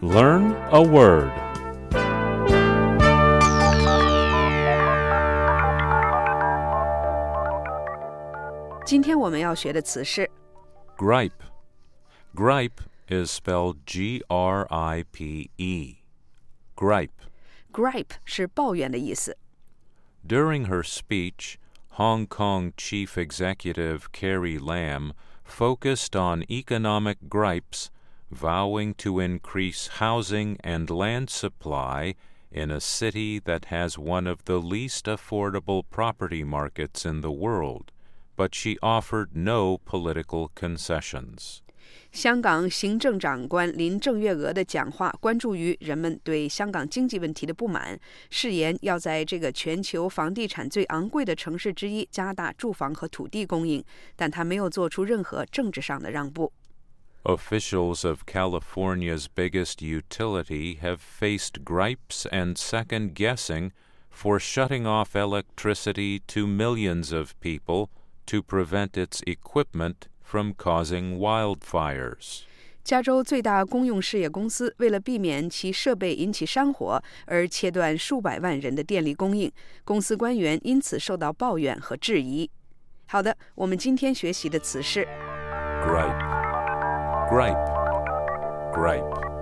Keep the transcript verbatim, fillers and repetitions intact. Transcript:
Learn a word. Today 今天我们要学的词是 Gripe. Gripe is spelled G R I P E. Gripe. Gripe 是抱怨的意思。 During her speech, Hong Kong Chief Executive Carrie Lam focused on economic gripes, vowing to increase housing and land supply in a city that has one of the least affordable property markets in the world, but she offered no political concessions. 香港行政长官林郑月娥的讲话关注于人们对香港经济问题的不满，誓言要在这个全球房地产最昂贵的城市之一加大住房和土地供应，但她没有做出任何政治上的让步。 Officials of California's biggest utility have faced gripes and second-guessing for shutting off electricity to millions of people to prevent its equipment from causing wildfires. 加州最大公用事业公司为了避免其设备引起山火而切断数百万人的电力供应，公司官员因此受到抱怨和质疑。好的，我们今天学习的词是 Gripe. Gripe. Gripe.